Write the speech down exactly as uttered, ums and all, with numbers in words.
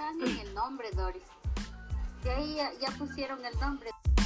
dan en el nombre, Doris. De ahí ya, ya pusieron el nombre.